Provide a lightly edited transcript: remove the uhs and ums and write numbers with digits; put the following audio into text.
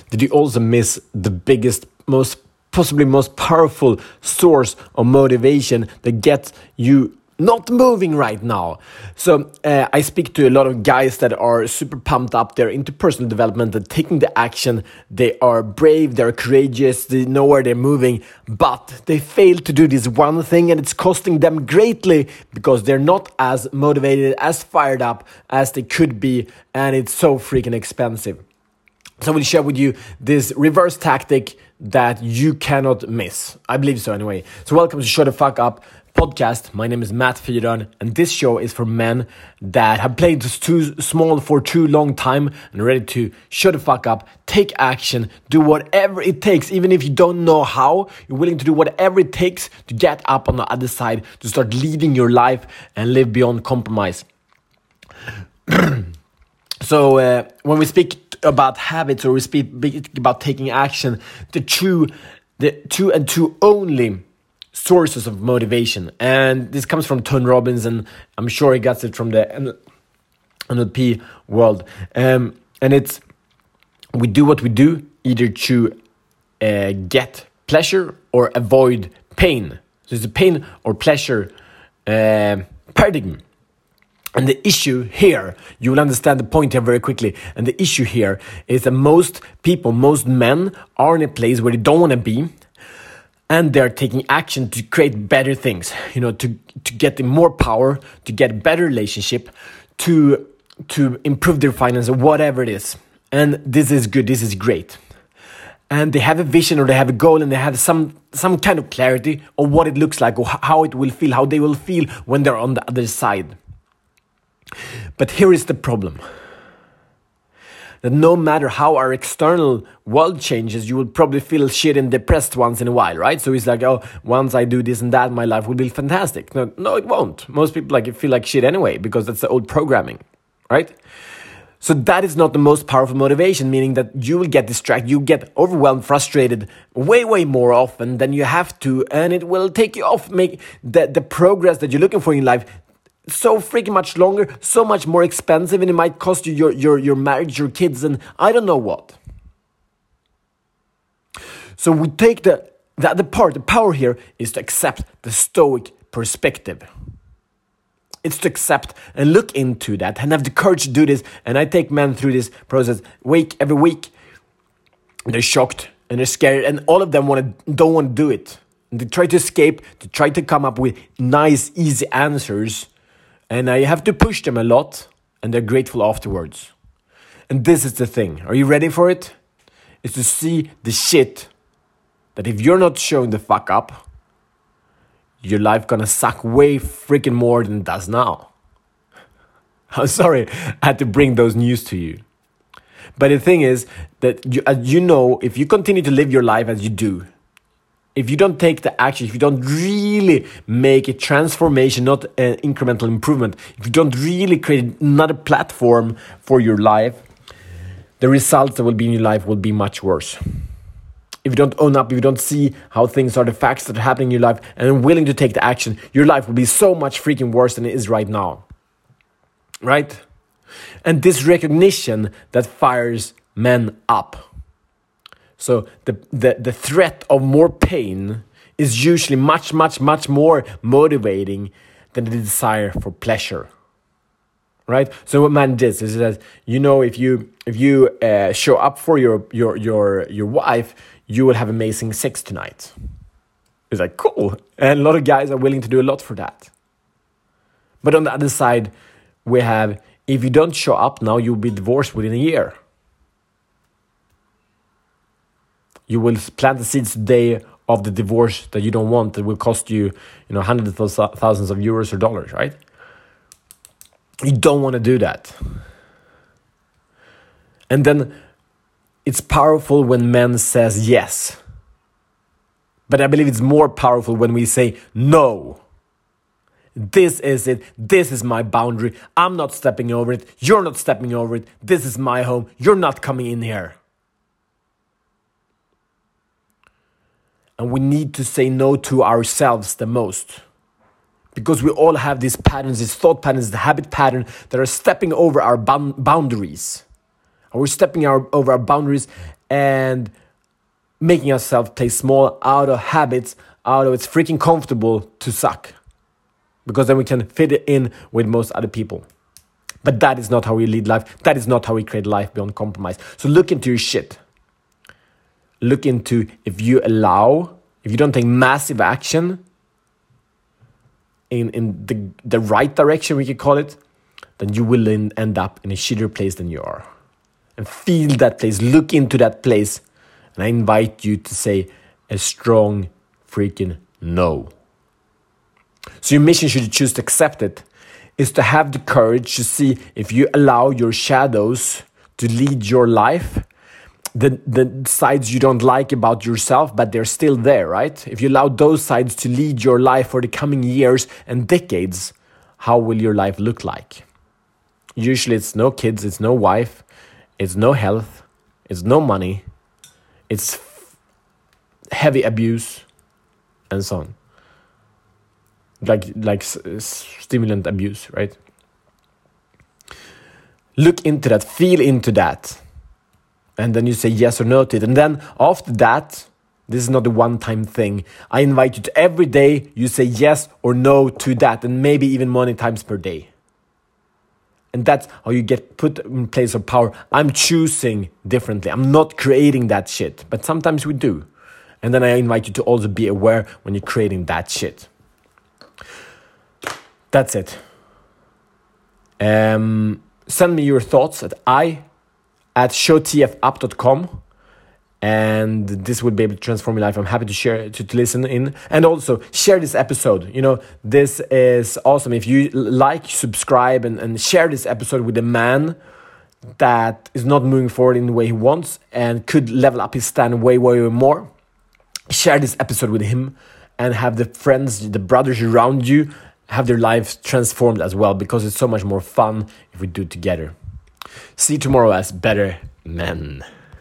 did you also miss the biggest, possibly most powerful source of motivation that gets you not moving right now? So I speak to a lot of guys that are super pumped up. They're into personal development, they're taking the action, they are brave, they're courageous, they know where they're moving, but they fail to do this one thing, and it's costing them greatly because they're not as motivated, as fired up as they could be, and it's so freaking expensive. So I will share with you this reverse tactic that you cannot miss. I believe so anyway. So welcome to Shut the Fuck Up podcast. My name is Matt Fyron, and this show is for men that have played too small for too long time and ready to shut the fuck up, take action, do whatever it takes. Even if you don't know how, you're willing to do whatever it takes to get up on the other side, to start leading your life and live beyond compromise. So when we speak about habits, or we speak about taking action, the two only sources of motivation, and this comes from Tony Robbins, and I'm sure he gets it from the NLP world, and it's we do what we do either to get pleasure or avoid pain. So it's a pain or pleasure paradigm. And the issue here, you will understand the point here very quickly. And the issue here is that most people, most men are in a place where they don't want to be. And they're taking action to create better things, to get more power, to get better relationship, to improve their finances, whatever it is. And this is good, this is great. And they have a vision, or they have a goal, and they have some kind of clarity of what it looks like, or how it will feel, how they will feel when they're on the other side. But here is the problem. That no matter how our external world changes, you will probably feel shit and depressed once in a while, right? So it's like, oh, once I do this and that, my life will be fantastic. No, it won't. Most people feel like shit anyway, because that's the old programming, right? So that is not the most powerful motivation, meaning that you will get distracted, you get overwhelmed, frustrated way more often than you have to, and it will take you off, make the progress that you're looking for in life so freaking much longer, so much more expensive, and it might cost you your marriage, your kids, and I don't know what. So we take the other part. The power here is to accept the stoic perspective. It's to accept and look into that and have the courage to do this. And I take men through this process every week. They're shocked and they're scared, and all of them don't want to do it. And they try to escape, to try to come up with nice, easy answers. And I have to push them a lot, and they're grateful afterwards. And this is the thing. Are you ready for it? It's to see the shit that if you're not showing the fuck up, your life gonna suck way freaking more than it does now. I'm sorry I had to bring those news to you. But the thing is that if you continue to live your life as you do, if you don't take the action, if you don't really make a transformation, not an incremental improvement, if you don't really create another platform for your life, the results that will be in your life will be much worse. If you don't own up, if you don't see how things are, the facts that are happening in your life, and are willing to take the action, your life will be so much freaking worse than it is right now. Right? And this recognition that fires men up. So the threat of more pain is usually much more motivating than the desire for pleasure, right? So what man does is that if you show up for your wife, you will have amazing sex tonight. It's like cool, and a lot of guys are willing to do a lot for that. But on the other side, we have if you don't show up now, you'll be divorced within a year. You will plant the seeds today of the divorce that you don't want, that will cost you, hundreds of thousands of euros or dollars, right? You don't want to do that. And then it's powerful when men says yes. But I believe it's more powerful when we say no. This is it. This is my boundary. I'm not stepping over it. You're not stepping over it. This is my home. You're not coming in here. And we need to say no to ourselves the most. Because we all have these patterns, these thought patterns, the habit pattern that are stepping over our boundaries. Are we stepping over our boundaries and making ourselves play small out of habits, out of it's freaking comfortable to suck? Because then we can fit it in with most other people. But that is not how we lead life. That is not how we create life beyond compromise. So look into your shit. Look into if you don't take massive action in the right direction, we could call it, then you will end up in a shittier place than you are. And feel that place. Look into that place. And I invite you to say a strong freaking no. So your mission, should you choose to accept it, is to have the courage to see if you allow your shadows to lead your life, the sides you don't like about yourself, but they're still there, right? If you allow those sides to lead your life for the coming years and decades, how will your life look like? Usually it's no kids, it's no wife, it's no health, it's no money, it's heavy abuse, and so on. Like stimulant abuse, right? Look into that, feel into that. And then you say yes or no to it. And then after that, this is not a one-time thing. I invite you to every day you say yes or no to that. And maybe even many times per day. And that's how you get put in place of power. I'm choosing differently. I'm not creating that shit. But sometimes we do. And then I invite you to also be aware when you're creating that shit. That's it. Send me your thoughts at showtfup.com, and this will be able to transform your life. I'm happy to share, to listen in, and also share this episode. You know, this is awesome. If you like, subscribe, and share this episode with a man that is not moving forward in the way he wants and could level up his stand way more. Share this episode with him and have the friends, the brothers around you have their lives transformed as well, because it's so much more fun if we do it together. See you tomorrow as better men.